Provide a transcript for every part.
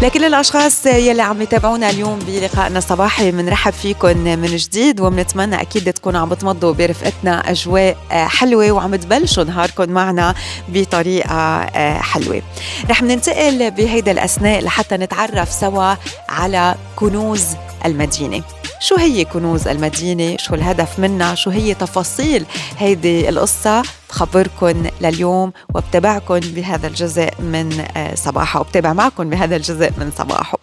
لكل الأشخاص يلي عم يتابعونا اليوم بلقائنا الصباحي بنرحب فيكم من جديد، وبنتمنى أكيد تكونوا عم بتمضوا برفقتنا أجواء حلوة وعم تبلشوا نهاركم معنا بطريقة حلوة. رح ننتقل بهيدا الأثناء لحتى نتعرف سوا على كنوز المدينة. شو هي كنوز المدينة؟ شو الهدف منها؟ شو هي تفاصيل هيدي القصة؟ بخبركن لليوم وبتابعكن بهذا الجزء من صباحه، وبتابع معكم بهذا الجزء من صباحه.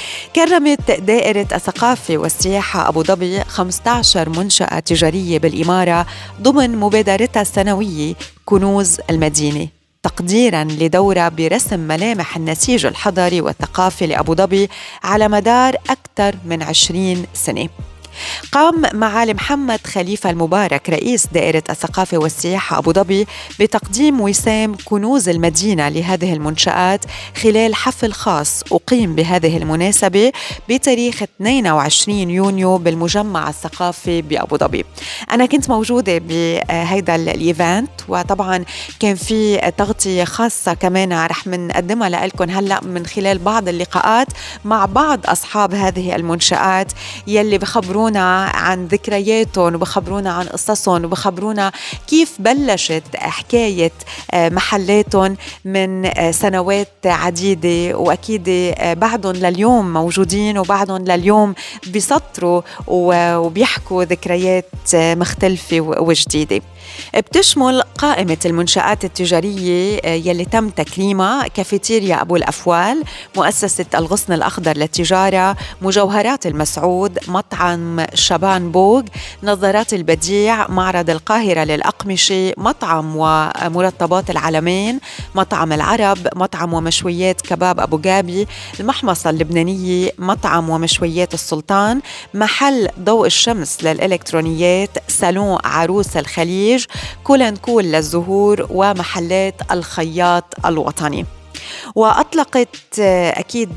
كرمت دائرة الثقافة والسياحة أبو ظبي 15 منشأة تجارية بالإمارة ضمن مبادرتها السنوية كنوز المدينة، تقديراً لدورة برسم ملامح النسيج الحضاري والثقافي لأبو ظبي على مدار أكثر من 20 سنة. قام معالي محمد خليفة المبارك رئيس دائرة الثقافة والسياحة أبو ظبي بتقديم وسام كنوز المدينة لهذه المنشآت خلال حفل خاص أقيم بهذه المناسبة بتاريخ 22 يونيو بالمجمع الثقافي بأبو ظبي. أنا كنت موجودة بهذا الإيفنت، وطبعا كان في تغطية خاصة كمان رح نقدمها لكم هلأ من خلال بعض اللقاءات مع بعض أصحاب هذه المنشآت يلي بخبرونا عن ذكرياتهم وبخبرونا عن قصصهم وبخبرونا كيف بلشت حكاية محلاتهم من سنوات عديدة، وأكيد بعضهم لليوم موجودين وبعضهم لليوم بيسطروا وبيحكوا ذكريات مختلفة وجديدة. بتشمل قائمة المنشآت التجارية يلي تم تكريمها كافيتيريا أبو الأفوال، مؤسسة الغصن الأخضر للتجارة، مجوهرات المسعود، مطعم شبان بوغ، نظارات البديع، معرض القاهرة للأقمشة، مطعم ومرطبات العلمين، مطعم العرب، مطعم ومشويات كباب أبو جابي، المحمصة اللبنانية، مطعم ومشويات السلطان، محل ضوء الشمس للإلكترونيات، صالون عروس الخليج، كولن كول للزهور، ومحلات الخياط الوطني. وأطلقت أكيد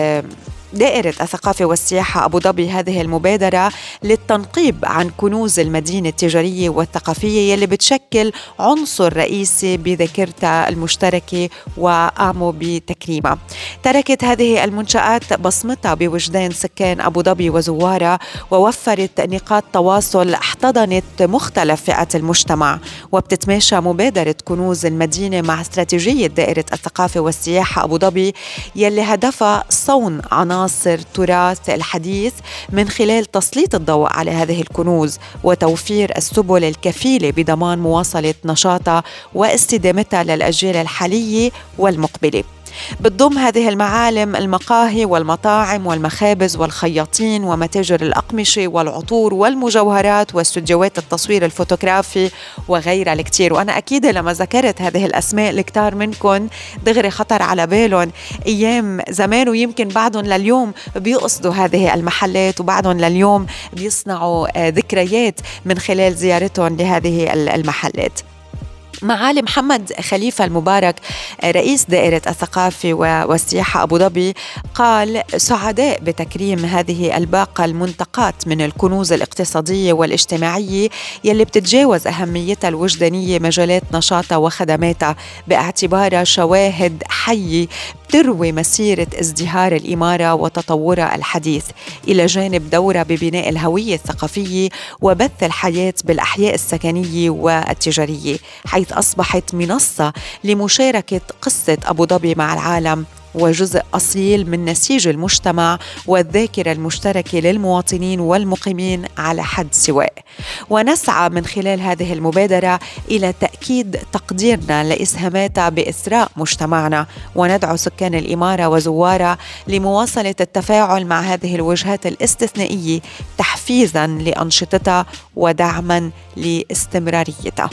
دائرة الثقافة والسياحة أبو ظبي هذه المبادرة للتنقيب عن كنوز المدينة التجارية والثقافية يلي بتشكل عنصر رئيسي بذاكرتها المشتركة وقاموا بتكريمها. تركت هذه المنشآت بصمتها بوجدان سكان أبو ظبي وزوارها، ووفرت نقاط تواصل احتضنت مختلف فئات المجتمع. وبتتماشى مبادرة كنوز المدينة مع استراتيجية دائرة الثقافة والسياحة أبو ظبي يلي هدفها صون عناصر تراث الحديث من خلال تسليط الضوء على هذه الكنوز وتوفير السبل الكفيلة بضمان مواصلة نشاطها واستدامتها للأجيال الحالية والمقبلة. بتضم هذه المعالم المقاهي والمطاعم والمخابز والخياطين ومتاجر الأقمشة والعطور والمجوهرات واستوديوهات التصوير الفوتوغرافي وغيرها الكثير. وأنا أكيد لما ذكرت هذه الأسماء الكتار منكم دغري خطر على بالهم أيام زمان، ويمكن بعضهم لليوم بيقصدوا هذه المحلات وبعضهم لليوم بيصنعوا ذكريات من خلال زيارتهم لهذه المحلات. معالي محمد خليفة المبارك رئيس دائرة الثقافة والسياحة أبو ظبي قال: سعداء بتكريم هذه الباقة المنتقاة من الكنوز الاقتصادية والاجتماعية يلي بتتجاوز أهميتها الوجدانية مجالات نشاطها وخدماتها، باعتبارها شواهد حية تروي مسيرة ازدهار الإمارة وتطورها الحديث، إلى جانب دورها ببناء الهوية الثقافية وبث الحياة بالأحياء السكنية والتجارية، حيث أصبحت منصة لمشاركة قصة أبو ظبي مع العالم وجزء أصيل من نسيج المجتمع والذاكرة المشتركة للمواطنين والمقيمين على حد سواء. ونسعى من خلال هذه المبادرة إلى تأكيد تقديرنا لإسهاماتها بإثراء مجتمعنا، وندعو سكان الإمارة وزوارها لمواصلة التفاعل مع هذه الوجهات الاستثنائية تحفيزاً لأنشطتها ودعماً لاستمراريتها.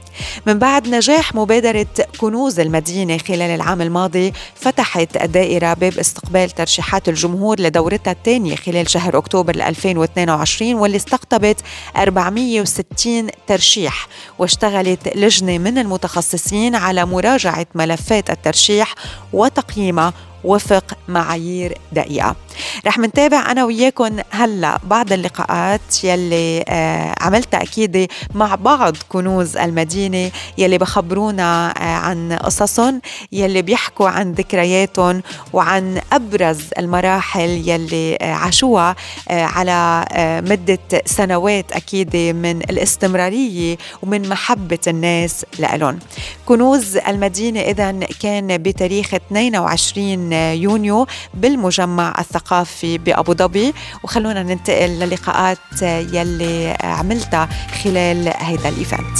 من بعد نجاح مبادرة كنوز المدينة خلال العام الماضي، فتحت الدائرة باب استقبال ترشيحات الجمهور لدورتها الثانية خلال شهر أكتوبر 2022، واللي استقطبت 460 ترشيح، واشتغلت لجنة من المتخصصين على مراجعة ملفات الترشيح وتقييمها وفق معايير دقيقة. رح منتابع أنا وياكم هلأ بعض اللقاءات يلي عملتها أكيد مع بعض كنوز المدينة يلي بخبرونا عن قصصهم، يلي بيحكوا عن ذكرياتهم وعن أبرز المراحل يلي عاشوها على مدة سنوات أكيد من الاستمرارية ومن محبة الناس لألون. كنوز المدينة إذن كان بتاريخ 22 يونيو بالمجمع الثقافي بأبو ظبي، وخلونا ننتقل للقاءات يلي عملتها خلال هيدا الإيفنت.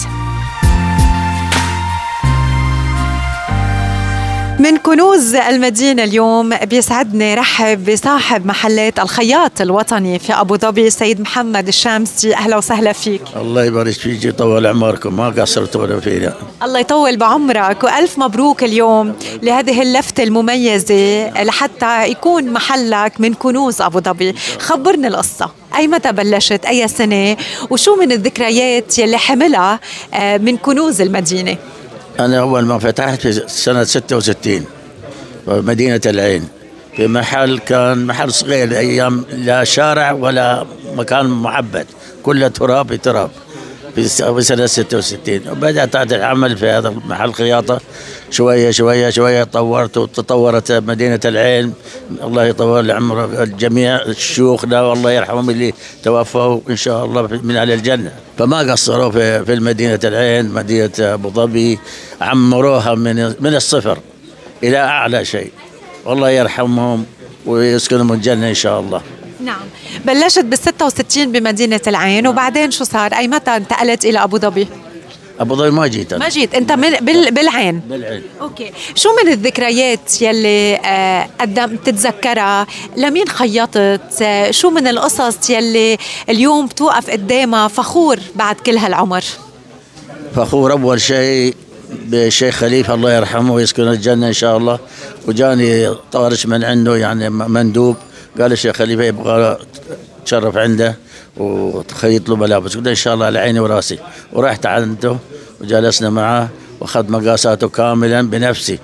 من كنوز المدينة اليوم بيسعدني رحب بصاحب محلات الخياط الوطني في أبو ظبي سيد محمد الشامسي. أهلا وسهلا فيك. الله يبارك فيك ويطول عمركم، ما قصرتوا ولا فينا. الله يطول بعمرك وألف مبروك اليوم لهذه اللفتة المميزة لحتى يكون محلك من كنوز أبو ظبي. خبرني القصة، أي متى بلشت، أي سنة، وشو من الذكريات يلي حملها من كنوز المدينة؟ أنا أول ما فتحت في سنة 66 بمدينة العين في محل كان محل صغير، أيام لا شارع ولا مكان معبد، كله تراب في تراب في سنة 66. وبدأت أعمل في هذا المحل خياطة شوية شوية شوية، طورت وتطورت مدينة العين. الله يطول عمر الجميع شيوخنا والله يرحمهم اللي توفوا إن شاء الله من أهل الجنة. فما قصروا في المدينة العين، مدينة أبو ظبي عمروها من الصفر إلى أعلى شيء، والله يرحمهم ويسكنهم الجنة إن شاء الله. نعم، بلشت بال66 بمدينة العين، وبعدين شو صار؟ أي متى انتقلت إلى أبو ظبي؟ أبو ظبي ما جيت أنا. ما جيت أنت بالعين. أوكي، شو من الذكريات يلي تتذكرها؟ لمين خيطت؟ شو من القصص يلي اليوم بتوقف قدامها فخور بعد كل هالعمر؟ فخور أول شيء بالشيخ خليفة الله يرحمه ويسكن الجنة إن شاء الله. وجاني طارش من عنده يعني مندوب، قال الشيخ خليفة يبغى تشرف عنده وتخيط له ملابس، قلت إن شاء الله على عيني وراسي. ورحت عنده وجلسنا معه وأخذ مقاساته كاملا بنفسي،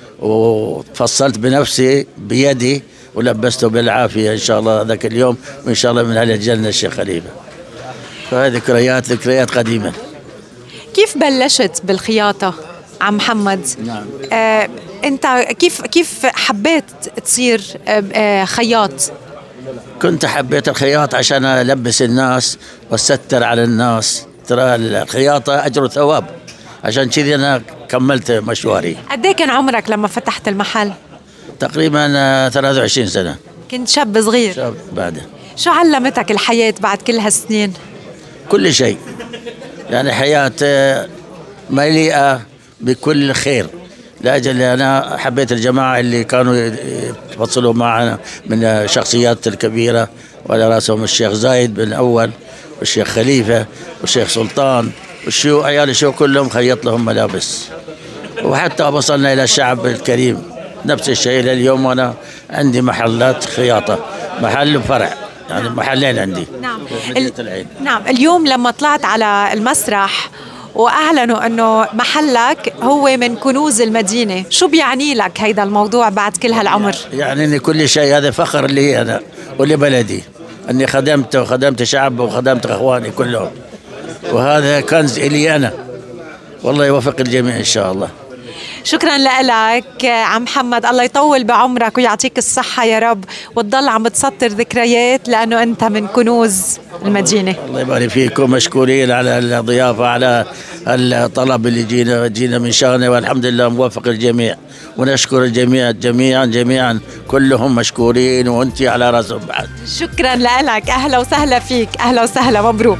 وفصلت بنفسي بيدي ولبسته بالعافية إن شاء الله ذاك اليوم، وإن شاء الله من أهل الجنة الشيخ خليفة. فهذه ذكريات قديمة. كيف بلشت بالخياطة عم محمد؟ نعم. أنت كيف حبيت تصير خياط؟ كنت حبيت الخياط عشان ألبس الناس وأستر على الناس، ترى الخياطة أجر وثواب، عشان كذي أنا كملت مشواري. قد إيه كان عمرك لما فتحت المحل؟ تقريبا 23 سنة. كنت شاب صغير. شاب بعد. شو علمتك الحياة بعد كل هالسنين؟ كل شيء، يعني حياة مليئة بكل خير، لأجل أنا حبيت الجماعة اللي كانوا يفصلوا معنا من الشخصيات الكبيرة، وعلى رأسهم الشيخ زايد بن أول والشيخ خليفة والشيخ سلطان والشيوخ عيال الشيوخ كلهم خيط لهم ملابس. وحتى وصلنا إلى الشعب الكريم نفس الشيء. لليوم أنا عندي محلات خياطة، محل وفرع، يعني محلين عندي. نعم. نعم، اليوم لما طلعت على المسرح وأعلنوا أنه محلك هو من كنوز المدينة، شو بيعني لك هيدا الموضوع بعد كل هالعمر؟ يعني إني كل شيء، هذا فخر لي أنا ولبلدي، أني خدمت شعب وخدمت أخواني كلهم، وهذا كنز إلي أنا، والله يوفق الجميع إن شاء الله. شكرا لك عم محمد، الله يطول بعمرك ويعطيك الصحة يا رب، وتضل عم تسطر ذكريات لأنه أنت من كنوز المدينة. الله يبارك فيكم، مشكورين على الضيافة، على الطلب اللي جينا من شانه، والحمد لله موفق الجميع، ونشكر الجميع جميعا كلهم مشكورين، وأنت على رأسهم بعد. شكرا لك، أهلا وسهلا فيك، أهلا وسهلا، مبروك.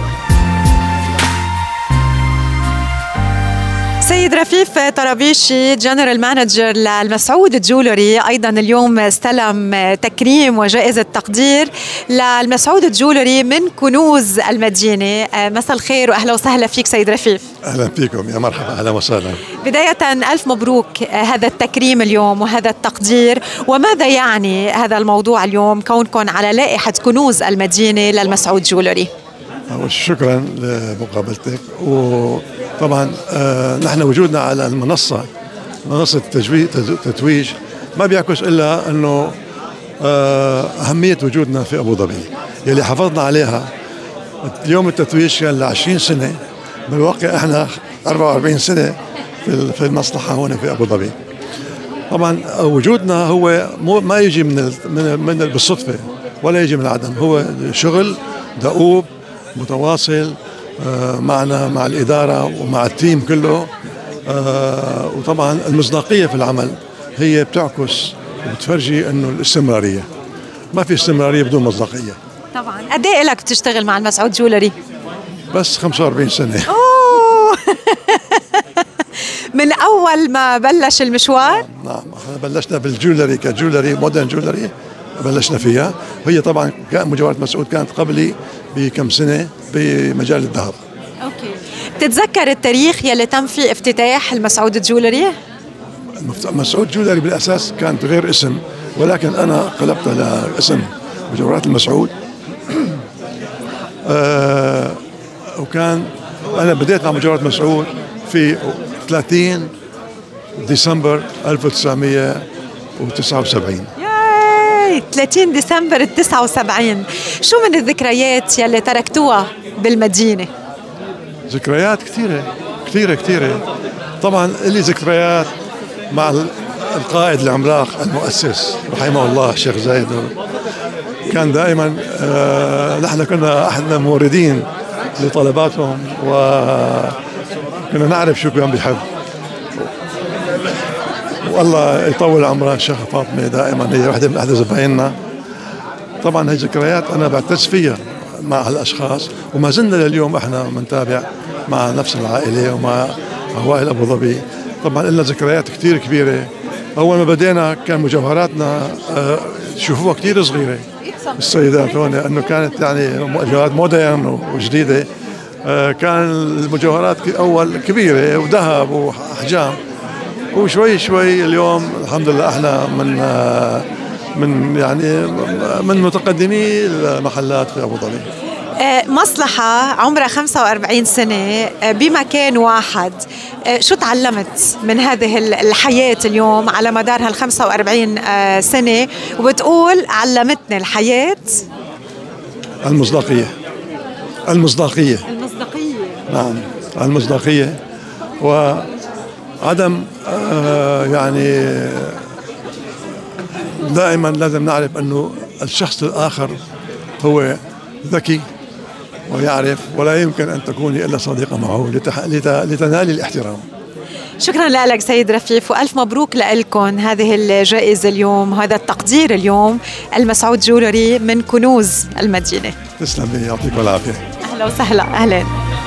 سيد رفيف طرابيشي جنرال مانجر للمسعود جولري، أيضا اليوم استلم تكريم وجائزة تقدير للمسعود جولري من كنوز المدينة. مساء الخير وأهلا وسهلا فيك سيد رفيف. أهلا فيكم، يا مرحبا، أهلا وسهلا. بداية ألف مبروك هذا التكريم اليوم وهذا التقدير، وماذا يعني هذا الموضوع اليوم كونكم على لائحة كنوز المدينة للمسعود جولري؟ شكرا لمقابلتك. وطبعا نحن وجودنا على منصة التتويج ما بيعكس إلا أنه أهمية وجودنا في أبو ظبي يلي حافظنا عليها. اليوم التتويج كان ل20 سنة، بالواقع احنا 44 سنة في المصلحة هنا في أبو ظبي. طبعا وجودنا هو ما يجي من بالصدفة ولا يجي من العدم، هو شغل دؤوب متواصل معنا مع الإدارة ومع التيم كله. وطبعا المصداقية في العمل هي بتعكس وبتفرجي انه الاستمرارية، ما في استمرارية بدون مصداقية. طبعا. قد ايه لك بتشتغل مع المسعود جولري؟ بس 45 سنة. أوه. من أول ما بلش المشوار؟ نعم، احنا بلشنا بالجولري كجولري مودرن جولري، بلشنا فيها. هي طبعا مجوهرات مسعود كانت قبلي بكم سنة بمجال الذهب. اوكي. بتتذكر التاريخ يلي تم فيه افتتاح المسعود جولري؟ مسعود جولري بالأساس كانت غير اسم، ولكن أنا قلبتها لاسم مجوهرات المسعود. وكان أنا بديت مع مجوهرات مسعود في 30 ديسمبر 1979. ياي 30 ديسمبر 79. شو من الذكريات يلي تركتوها بالمدينة؟ ذكريات كثيرة كثيرة كثيرة. طبعا لي ذكريات مع القائد العملاق المؤسس رحمه الله الشيخ زايد. كان دائما نحن كنا احد الموردين لطلباتهم، وكنا نعرف شو كان بيحب. والله يطول عمرها الشيخ فاطمة، دائما هي واحدة من أحد زبايننا. طبعا هي ذكريات أنا بعتز فيها مع هالأشخاص، وما زلنا لليوم احنا بنتابع مع نفس العائلة ومع عوائل أبو ظبي. طبعا لنا ذكريات كثير كبيرة. أول ما بدينا كان مجوهراتنا تشوفوها كثير صغيرة السيدات هون، لأنه كانت يعني مجوهرات مودرن وجديدة. كان المجوهرات أول كبيرة وذهب وأحجام، وشوي شوي اليوم الحمد لله احنا من متقدمي المحلات في أبو ظبي. مصلحة عمرها 45 سنة بمكان واحد. شو تعلمت من هذه الحياة اليوم على مدار هال 45 سنة وبتقول علمتني الحياة؟ المصداقية. نعم، المصداقية وعدم يعني دائما لازم نعرف أنه الشخص الآخر هو ذكي ويعرف، ولا يمكن أن تكوني إلا صديقة معه لتنالي الاحترام. شكرا لك سيد رفيف، وألف مبروك لكم هذه الجائزة اليوم، هذا التقدير اليوم، المسعود جولري من كنوز المدينة. تسلمي، يعطيك العافية. أهلا وسهلا. أهلا.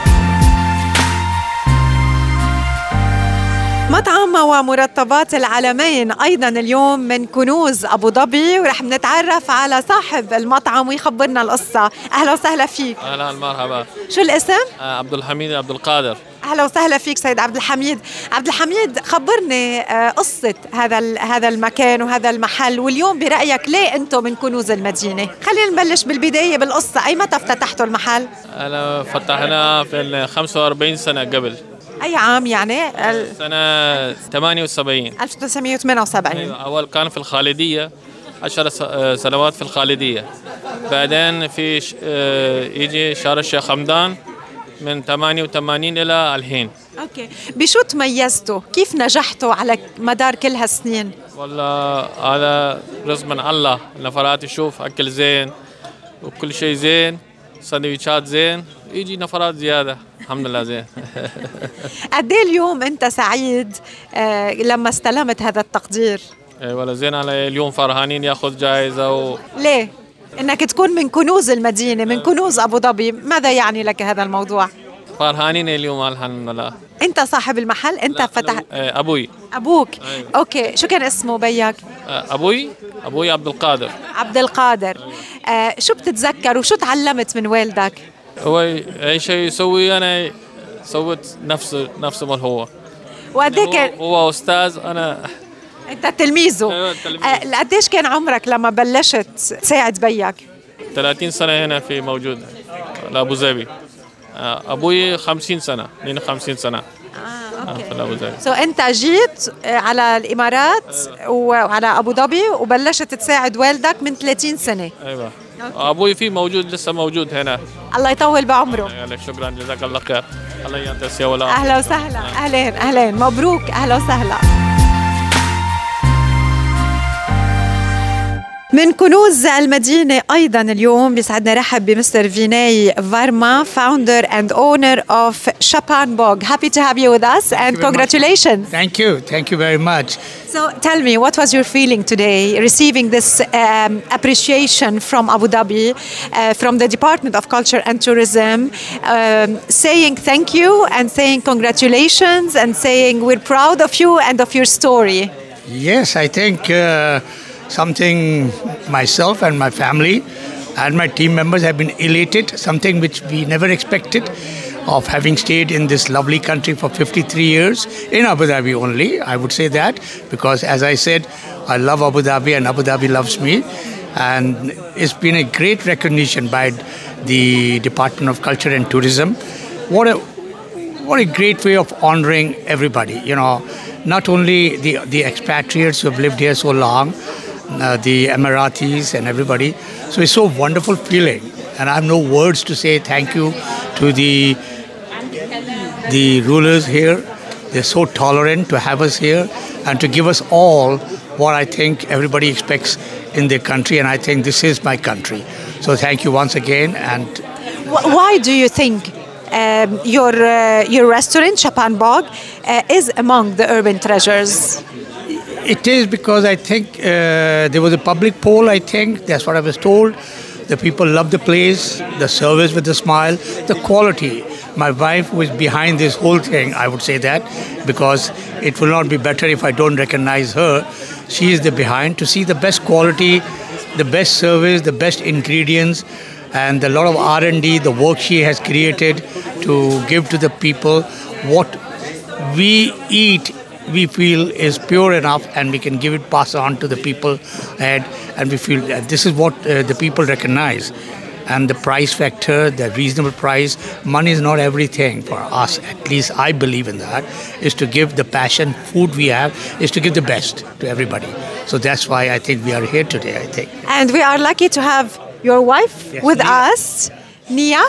مطعم ومرطبات العالمين أيضا اليوم من كنوز أبو ظبي، ورح نتعرف على صاحب المطعم ويخبرنا القصة. أهلا وسهلا فيك. أهلا مرحبا. شو الاسم؟ عبد الحميد عبد القادر. أهلا وسهلا فيك سيد عبد الحميد. عبد الحميد، خبرني قصة هذا المكان وهذا المحل، واليوم برأيك ليه أنتم من كنوز المدينة؟ خلينا نبلش بالبداية بالقصة. أي متى افتتحتوا المحل؟ أنا فتحنا في 45 سنة قبل. أي عام يعني؟ سنة 78. 1978. أول كان في الخالدية 10 سنوات في الخالدية، بعدين في يجي شارع الشيخ حمدان من 88 إلى الحين. أوكي. بشو تميزتوا؟ كيف نجحتوا على مدار كل هالسنين؟ والله هذا رزق من الله. نفرات تشوف أكل زين وكل شيء زين، سندويشات زين، يجي نفرات زيادة الحمد لله زين. قد ايه اليوم أنت سعيد لما استلمت هذا التقدير؟ ولا زين، على اليوم فرحانين ياخذ جائزة ليه؟ إنك تكون من كنوز المدينة، من كنوز أبو ظبي، ماذا يعني لك هذا الموضوع؟ فرحانين اليوم الحمد لله. أنت صاحب المحل؟ أنت فتحت؟ أبوي. أبوك؟ أيوة. أوكي. شو كان اسمه بيك؟ أبوي عبد القادر. عبد القادر. شو بتتذكر وشو تعلمت من والدك؟ هو أي شيء يسوي أنا سويت نفسه ما هو. وقديه كان هو أستاذ، أنا أنت تلميذه. أيوة تلميذ. قديش كان عمرك لما بلشت تساعد بيك؟ 30 سنة هنا في موجود لأبو ظبي. أبوي 50 سنة، 52 سنة. في أبو ظبي. سو أنت جيت على الإمارات وعلى أبو ظبي وبلشت تساعد والدك من 30 سنة. أيوة. أبوي فيه موجود، لسه موجود هنا. الله يطول بعمره. يعني شكرا، جزاك الله خير. الله ينتس يا ولا. أهلا وسهلا. أهلين مبروك، أهلا وسهلا. من كنوز المدينة أيضا اليوم بيسعدنا رحب بمستر فيناي فارما, founder and owner of Chapan Bog. Happy to have you with us and congratulations. Thank you very much. So tell me, what was your feeling today receiving this appreciation from Abu Dhabi, from the Department of Culture and Tourism, saying thank you and saying congratulations and saying we're proud of you and of your story? Yes, I think something myself and my family and my team members have been elated, something which we never expected, of having stayed in this lovely country for 53 years, in Abu Dhabi only, I would say that, because as I said, I love Abu Dhabi and Abu Dhabi loves me, and it's been a great recognition by the Department of Culture and Tourism. What a great way of honoring everybody, you know, not only the expatriates who have lived here so long, the Emiratis and everybody. So it's so wonderful feeling, and I have no words to say thank you to the rulers here. They're so tolerant to have us here and to give us all what I think everybody expects in their country, and I think this is my country. So thank you once again. And why do you think your restaurant Chapan Bog is among the urban treasures? It is because I think there was a public poll, I think, that's what I was told. The people love the place, the service with a smile, the quality. My wife was behind this whole thing, I would say that, because it will not be better if I don't recognize her. She is the behind to see the best quality, the best service, the best ingredients, and a lot of R&D, the work she has created to give to the people. What we eat, we feel is pure enough, and we can give it, pass on to the people, and we feel that this is what the people recognize. And the price factor, the reasonable price, money is not everything for us, at least I believe in that, is to give the passion, food we have, is to give the best to everybody. So that's why I think we are here today, I think. And we are lucky to have your wife with us, Nira,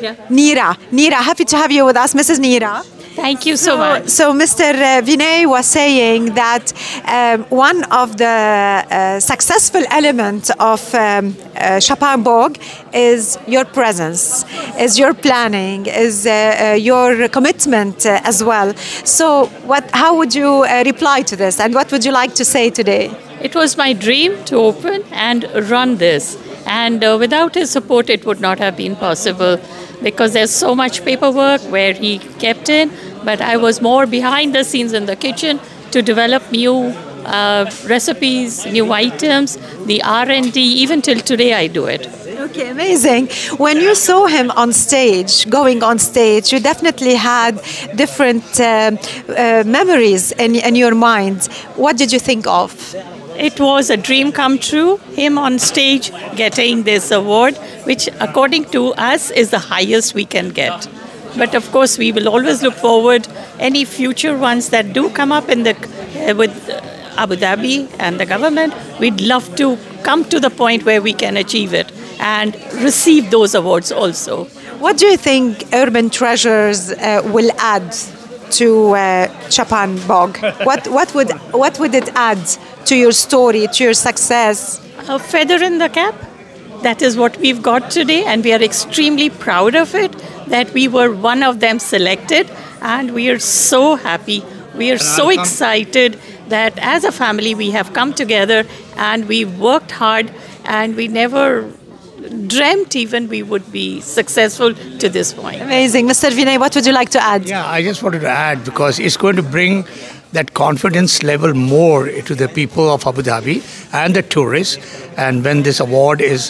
happy to have you with us, Mrs. Nira. Thank you so much. So Mr. Vinay was saying that one of the successful elements of Chapan Bog is your presence, is your planning, is your commitment as well. So how would you reply to this, and what would you like to say today? It was my dream to open and run this. And without his support, it would not have been possible, because there's so much paperwork where he kept in, but I was more behind the scenes in the kitchen to develop new recipes, new items, the R&D. Even till today, I do it. Okay, amazing. When you saw him on stage, going on stage, you definitely had different memories in your mind. What did you think of? It was a dream come true, him on stage getting this award, which according to us is the highest we can get. But of course, we will always look forward any future ones that do come up in with Abu Dhabi and the government. We'd love to come to the point where we can achieve it and receive those awards also. What do you think Urban Treasures will add to Chapan Bog? What would it add to your story, to your success? A feather in the cap. That is what we've got today, and we are extremely proud of it, that we were one of them selected, and we are so happy. We are so excited that as a family we have come together and we worked hard, and we never dreamt even we would be successful to this point. Amazing. Mr. Vinay, what would you like to add? Yeah, I just wanted to add, because it's going to bring that confidence level more to the people of Abu Dhabi and the tourists. And when this award is,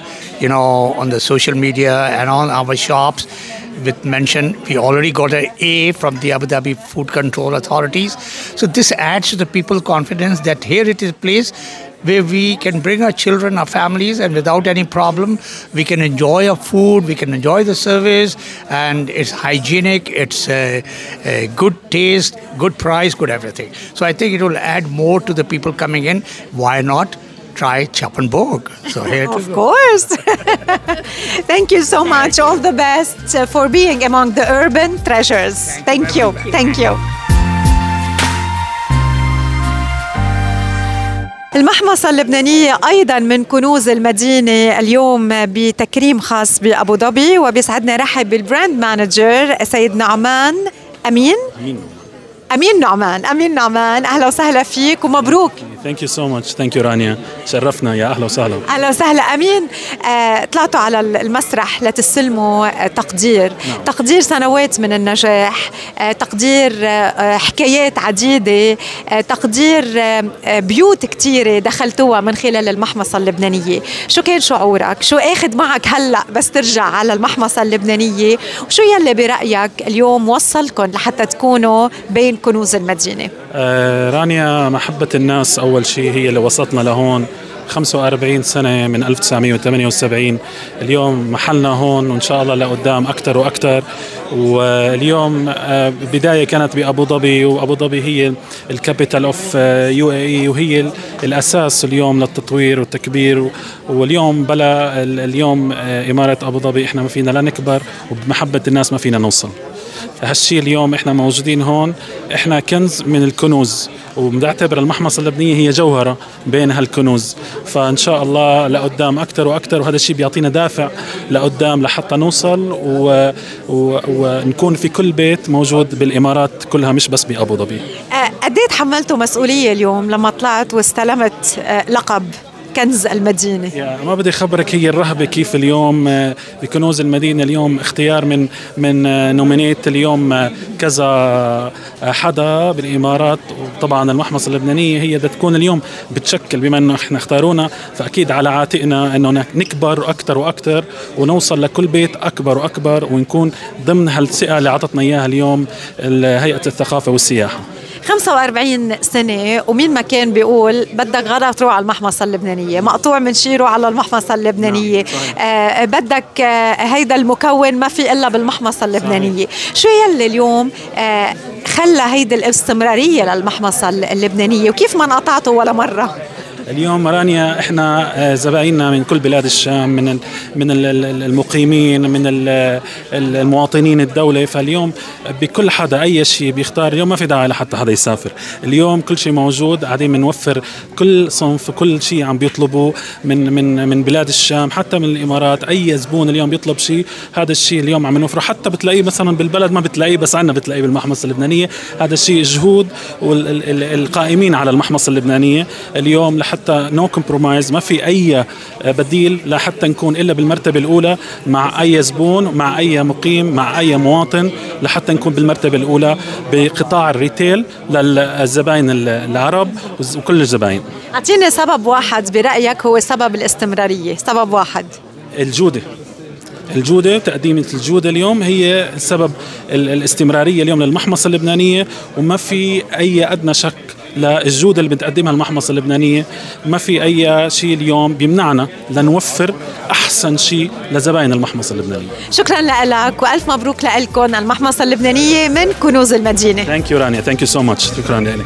on the social media and on our shops, with mention, we already got an A from the Abu Dhabi Food Control Authorities. So this adds to the people's confidence that here it is a place where we can bring our children, our families, and without any problem, we can enjoy our food, we can enjoy the service, and it's hygienic, it's a good taste, good price, good everything. So I think it will add more to the people coming in. Why not try Chappenburg? So here Of course. Thank you so much. All the best for being among the urban treasures. Thank you. Thank you. المحمصة اللبنانية أيضا من كنوز المدينة، اليوم بتكريم خاص بأبو ظبي، وبيسعدنا رحب بالبراند مانجر سيد نعمان أمين نعمان. أهلا وسهلا فيك ومبروك. Thank you so much. Thank you رانيا. شرفنا، يا أهلا وسهلا. أهلا وسهلا أمين. طلعتوا على المسرح لتستلموا تقدير. نعم. تقدير سنوات من النجاح، تقدير حكايات عديدة، تقدير بيوت كتيرة دخلتوها من خلال المحمصة اللبنانية. شو كان شعورك؟ شو أخذ معك هلأ بس ترجع على المحمصة اللبنانية؟ وشو يلي برأيك اليوم وصلكم لحتى تكونوا بين كنوز المدينة؟ رانيا، محبة الناس أول شيء هي اللي وصلتنا لهون. 45 سنة من 1978 اليوم محلنا هون، وإن شاء الله لقدام أكتر وأكتر. واليوم بداية كانت بأبو ظبي، وأبو ظبي هي الكابيتال أوف UAE، وهي الأساس اليوم للتطوير والتكبير. واليوم بلا اليوم إمارة أبو ظبي إحنا ما فينا لا نكبر، وبمحبة الناس ما فينا نوصل. هالشي اليوم احنا موجودين هون، احنا كنز من الكنوز، وبنعتبر المحمصة اللبنانية هي جوهرة بين هالكنوز. فإن شاء الله لقدام أكتر وأكتر، وهذا الشيء بيعطينا دافع لقدام لحتى نوصل ونكون في كل بيت موجود بالإمارات كلها، مش بس بأبو ظبي. قديه تحملتوا مسؤولية اليوم لما طلعت واستلمت لقب كنز المدينة؟ ما بدي خبرك هي الرهبة كيف اليوم بكنوز المدينة. اليوم اختيار من نومينيت اليوم كذا حدا بالإمارات، وطبعا المحمصة اللبنانية هي بدها تكون اليوم بتشكل، بما انه احنا اختارونا فأكيد على عاتقنا انه نكبر أكتر وأكتر، ونوصل لكل بيت أكبر وأكبر، ونكون ضمن هالثقة اللي عطتنا إياها اليوم هيئة الثقافة والسياحة. 45 سنة ومين ما كان بيقول بدك غدا تروح على المحمصة اللبنانية، مقطوع من شيره على المحمصة اللبنانية. نعم. بدك هيدا المكون ما في إلا بالمحمصة اللبنانية. صحيح. شو يلي اليوم خلى هيدا الاستمرارية للمحمصة اللبنانية، وكيف ما انقطعتوا ولا مرة؟ اليوم رانيا احنا زبايننا من كل بلاد الشام، من المقيمين، من المواطنين الدولة. فاليوم بكل حدا اي شيء بيختار، اليوم ما في داعي لحتى حدا يسافر، اليوم كل شيء موجود، قاعدين بنوفر كل صنف كل شيء عم بيطلبوا من بلاد الشام، حتى من الامارات. اي زبون اليوم بيطلب شيء، هذا الشيء اليوم عم نوفره، حتى بتلاقيه مثلا بالبلد ما بتلاقيه، بس عندنا بتلاقيه بالمحمصة اللبنانية. هذا الشيء جهود والقائمين على المحمصة اللبنانية اليوم حتى نو كومبرومايز، ما في أي بديل لحتى نكون إلا بالمرتبة الأولى مع أي زبون، مع أي مقيم، مع أي مواطن، لحتى نكون بالمرتبة الأولى بقطاع الريتيل للزبائن العرب وكل الزبائن. أعطيني سبب واحد برأيك هو سبب الاستمرارية، سبب واحد. الجودة، تقديم الجودة اليوم هي سبب الاستمرارية اليوم للمحمصة اللبنانية، وما في أي أدنى شك للجودة اللي بتقدمها المحمصة اللبنانية. ما في أي شيء اليوم بيمنعنا لنوفر أحسن شيء لزبائن المحمصة اللبنانية. شكرا لك وألف مبروك لكم. المحمصة اللبنانية من كنوز المدينة. Thank you رانيا. Thank you so much. شكرا لك.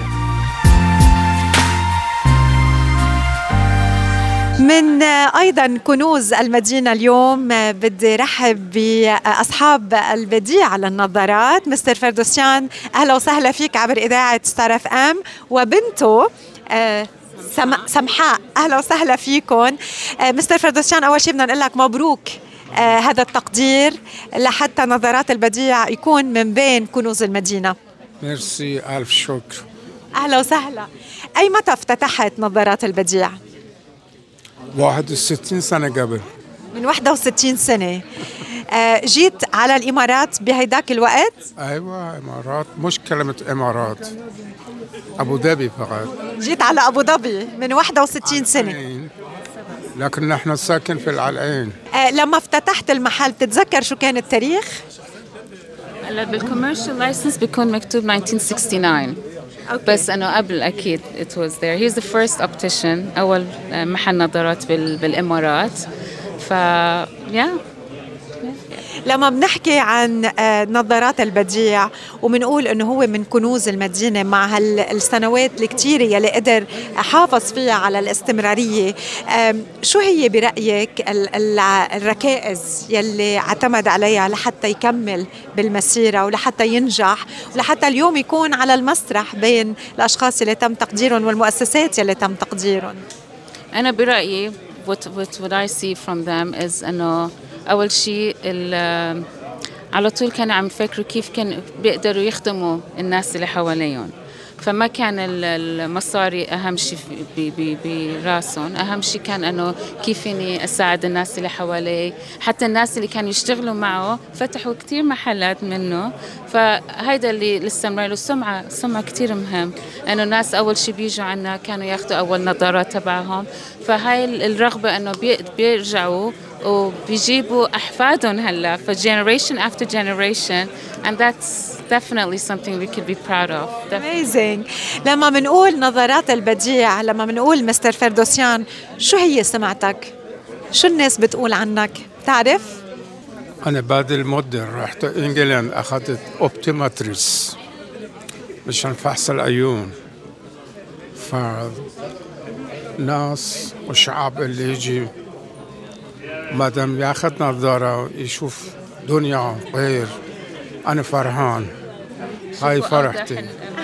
من أيضا كنوز المدينة اليوم بدي رحب بأصحاب البديع على النظارات، مستر فردوسيان. أهلا وسهلا فيك عبر إذاعة ستار اف ام، وبنته سمحاء. أهلا وسهلا فيكم. مستر فردوسيان، أول شيء بدنا نقول لك مبروك هذا التقدير لحتى نظارات البديع يكون من بين كنوز المدينة. ميرسي، ألف شكر. أهلا وسهلا. أي متى افتتحت نظارات البديع؟ 61 سنة قبل. من 61 سنة. جيت على الإمارات بهيداك الوقت؟ أيوة، إمارات، مش كلمة إمارات، أبو ظبي فقط. جيت على أبو ظبي من 61 سنة، لكن نحن ساكن في العلعين. لما افتتحت المحل بتتذكر شو كان التاريخ؟ هلا بالكوميرشال لايسنس بيكون مكتوب 1969. بس أنه قبل أكيد it was there. He's the first optician، أول محل نظارات بالإمارات. لما بنحكي عن نظارات البديع ومنقول انه هو من كنوز المدينة مع السنوات الكتيرة يلي قدر حافظ فيها على الاستمرارية، شو هي برأيك الركائز يلي اعتمد عليها لحتى يكمل بالمسيرة ولحتى ينجح ولحتى اليوم يكون على المسرح بين الأشخاص اللي تم تقديرهم والمؤسسات يلي تم تقديرهم؟ أنا برأيي what I see from them is أنه أول شيء على طول كانوا عم يفكروا كيف كان بيقدروا يخدموا الناس اللي حواليهم، فما كان المصاري أهم شيء براسهم. أهم شيء كان أنه كيف إني أساعد الناس اللي حوالي. حتى الناس اللي كانوا يشتغلوا معه فتحوا كتير محلات منه، فهيدا اللي الاستمرار. السمعة كتير مهم، أنه الناس أول شيء بيجوا عنا كانوا ياخدوا أول نظارات تبعهم، فهاي الرغبة أنه بيرجعوا وبيجيبوا أحفادهم هلا generation after generation, and that's definitely something we could be proud of. Amazing. لما منقول نظارات البديع، لما منقول مستر فردوسيان، شو هي سمعتك؟ شو الناس بتقول عنك؟ تعرف؟ أنا بعد المدة رحت إنجلند أخذت أوبتيماتريس مشان فحص العيون. فالناس والشعب اللي يجي ما دام ياخذ نظارة يشوف دنيا غير، أنا فرحان. هاي فرحتي.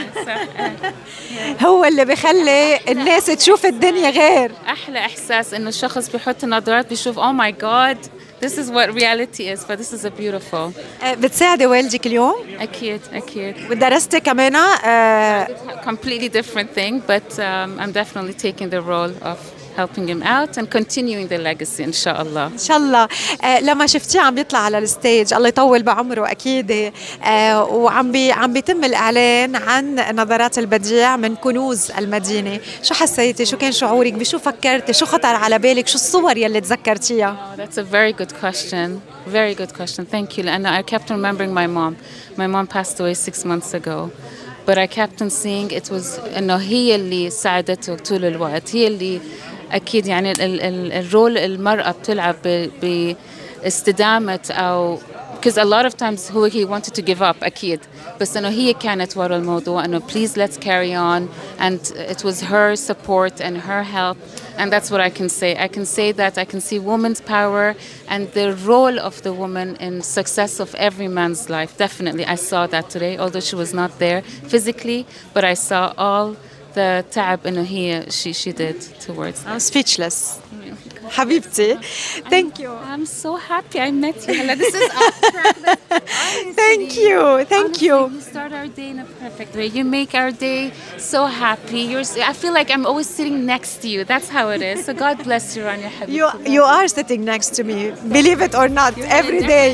هو اللي بيخلي الناس تشوف الدنيا غير. أحلى إحساس إنه الشخص بيحط نظارات بيشوف oh my god this is what reality is. this is a beautiful. بتساعدي والدك اليوم؟ أكيد. ودرستي كمان؟ Completely different thing, but I'm definitely taking the role of helping him out and continuing the legacy إن شاء الله. إن شاء الله. لما شفتيه عم بيطلع على الستيج، الله يطول بعمره أكيد، وعم بيتم الإعلان عن نظارات البديع من كنوز المدينة، شو حسيتي؟ شو كان شعورك؟ بشو فكرتي؟ شو خطر على بالك؟ شو الصور يلي تذكرتيها؟ That's a very good question. Very good question. Thank you. And I kept remembering my mom. My mom passed away 6 months ago. But I kept on seeing it was إنه هي اللي ساعدته طول الوقت، هي اللي أكيد يعني الرول المرأة بتلعب باستدامة أو because a lot of times he wanted to give up أكيد، بس إنه هي كانت ورا الموضوع إنه please let's carry on, and it was her support and her help, and that's what I can say. I can say that I can see women's power and the role of the woman in success of every man's life. Definitely I saw that today, although she was not there physically, but I saw all the تعب إنه هي she did towards that. I'm speechless. حبيبتي. Thank you. I'm so happy I met you. This is awesome. Thank you. You start our day in a perfect way. You make our day so happy. I feel like I'm always sitting next to you. That's how it is. So God bless you, Rania Habib. You are sitting next to me. Believe it or not, every day.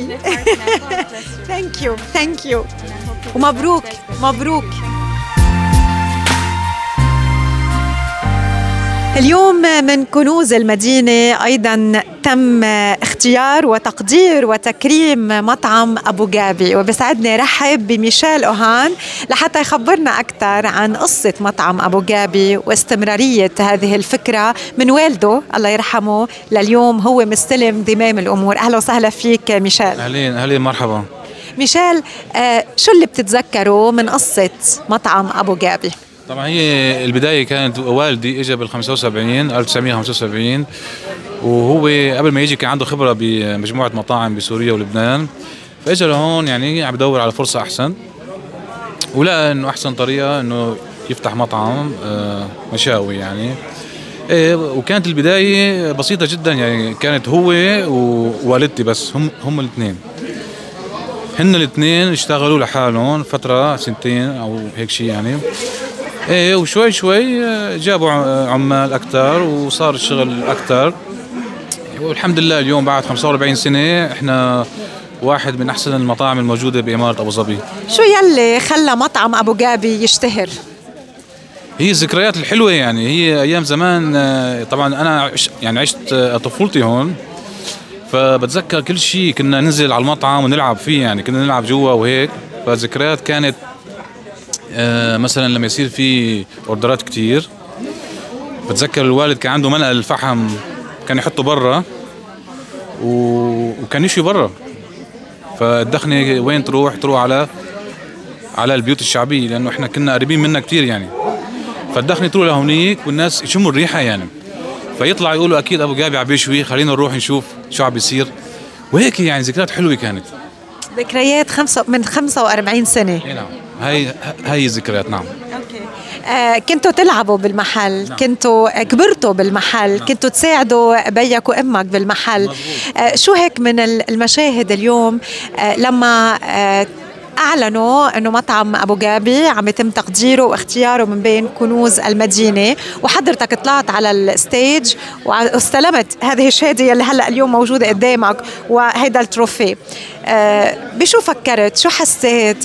Thank you. ومبروك. اليوم من كنوز المدينة أيضا تم اختيار وتقدير وتكريم مطعم أبو جابي، وبسعدني رحب بميشيل أوهان لحتى يخبرنا أكثر عن قصة مطعم أبو جابي واستمرارية هذه الفكرة من والده الله يرحمه لليوم هو مستلم زمام الأمور. أهلا وسهلا فيك ميشيل. أهلا مرحبا ميشيل. شو اللي بتتذكره من قصة مطعم أبو جابي؟ طبعا هي البداية كانت والدي اجى بال 1975 وهو قبل ما يجي كان عنده خبرة بمجموعة مطاعم بسوريا ولبنان، فاجى لهون يعني عم بدور على فرصة أحسن، ولقى إنه أحسن طريقة إنه يفتح مطعم مشاوي يعني. وكانت البداية بسيطة جدا يعني، كانت هو ووالدتي بس هم الاثنين، هن الاثنين اشتغلوا لحالهم فترة 2 أو هيك شيء يعني. وشوي جابوا عمال أكتر وصار الشغل أكتر، والحمد لله اليوم بعد 45 سنة إحنا واحد من أحسن المطاعم الموجودة بإمارة أبو ظبي. شو يلي خلى مطعم أبو جابي يشتهر؟ هي الذكريات الحلوة يعني، هي أيام زمان طبعا أنا عشت طفولتي هون، فبتذكر كل شيء كنا ننزل على المطعم ونلعب فيه يعني، كنا نلعب جوا وهيك، فالذكريات كانت مثلا لما يصير في اوردرات كتير، بتذكر الوالد كان عنده منقل الفحم كان يحطه برا وكان يشوي برا، فالدخنة وين تروح على البيوت الشعبية، لأنه إحنا كنا قريبين منها كتير يعني، فالدخنة تروح لهونيك والناس يشموا الريحة يعني، فيطلع يقولوا أكيد أبو جابي عم بيشوي، خلينا نروح نشوف شو عم بيصير، وهيك يعني ذكريات حلوة كانت. ذكريات من 45 سنة. نعم، هاي الذكريات. نعم. كنتوا تلعبوا بالمحل. نعم. كنتوا كبرتوا بالمحل. نعم. كنتوا تساعدوا بيك وأمك بالمحل. شو هيك من المشاهد اليوم لما أعلنوا أنه مطعم أبو جابي عم يتم تقديره واختياره من بين كنوز المدينة، وحضرتك طلعت على الستيج واستلمت هذه الشهادة اللي هلأ اليوم موجودة قدامك وهيدا التروفي، بشو فكرت؟ شو حسيت؟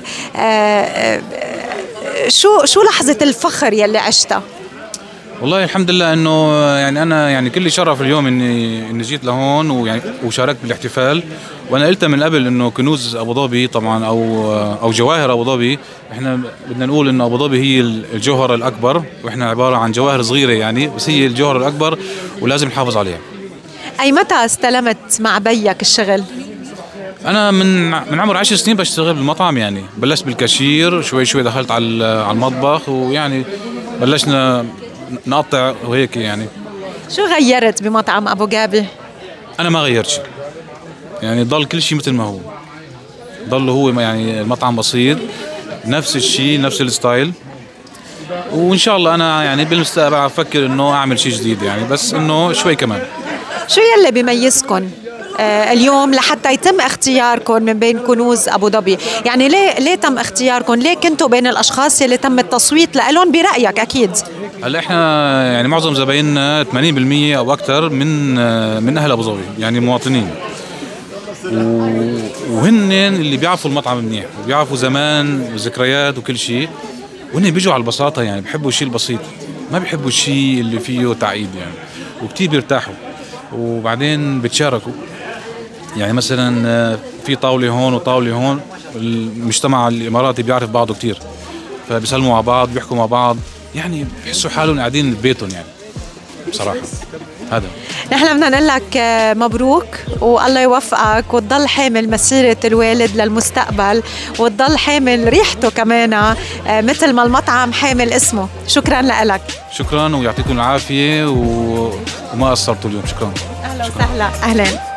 شو لحظة الفخر يلي عشتها؟ والله الحمد لله انه يعني انا يعني كل شرف اليوم اني جيت لهون ويعني وشاركت بالاحتفال، وانا قلت من قبل انه كنوز ابو ظبي طبعا او جواهر ابو ظبي، احنا بدنا نقول انه ابو ظبي هي الجوهره الاكبر، واحنا عباره عن جواهر صغيره يعني، بس هي الجوهره الاكبر ولازم نحافظ عليها. اي متى استلمت مع بيك الشغل؟ انا من عمر 10 سنين بشتغل بالمطعم يعني، بلشت بالكاشير، شوي شوي دخلت على المطبخ، ويعني بلشنا نقطع وهيك يعني. شو غيرت بمطعم أبو جابي؟ أنا ما غيرت شيء يعني، ضل كل شيء مثل ما هو، ضل هو يعني المطعم بسيط، نفس الشيء نفس الستايل، وإن شاء الله أنا يعني بالمستقبل أفكر إنه أعمل شيء جديد يعني، بس إنه شوي كمان. شو يلي بيميزكم اليوم لحتى يتم اختياركم من بين كنوز أبو ظبي؟ يعني ليه تم اختياركم؟ ليه كنتوا بين الأشخاص اللي تم التصويت لهم برأيك أكيد؟ هلا احنا يعني معظم زبايننا 80% أو أكثر من أهل أبو ظبي يعني مواطنين، وهن اللي بيعرفوا المطعم منيح وبيعرفوا زمان وذكريات وكل شيء، وهن بيجوا على البساطة يعني، بيحبوا الشيء البسيط، ما بيحبوا الشيء اللي فيه تعقيد يعني، وكتير بيرتاحوا، وبعدين بتشاركوا يعني، مثلا في طاولة هون وطاولة هون، المجتمع الإماراتي بيعرف بعضه كتير، فبيسلموا على بعض بيحكوا مع بعض يعني، بيحسوا حالهم قاعدين ببيتهم يعني بصراحة. هذا نحن بدنا نقول لك مبروك، والله يوفقك، وتضل حامل مسيرة الوالد للمستقبل، وتضل حامل ريحته كمان مثل ما المطعم حامل اسمه. شكرا لك. شكرا ويعطيكم العافية وما قصرتوا اليوم. شكرا. أهلا وسهلا. أهلا.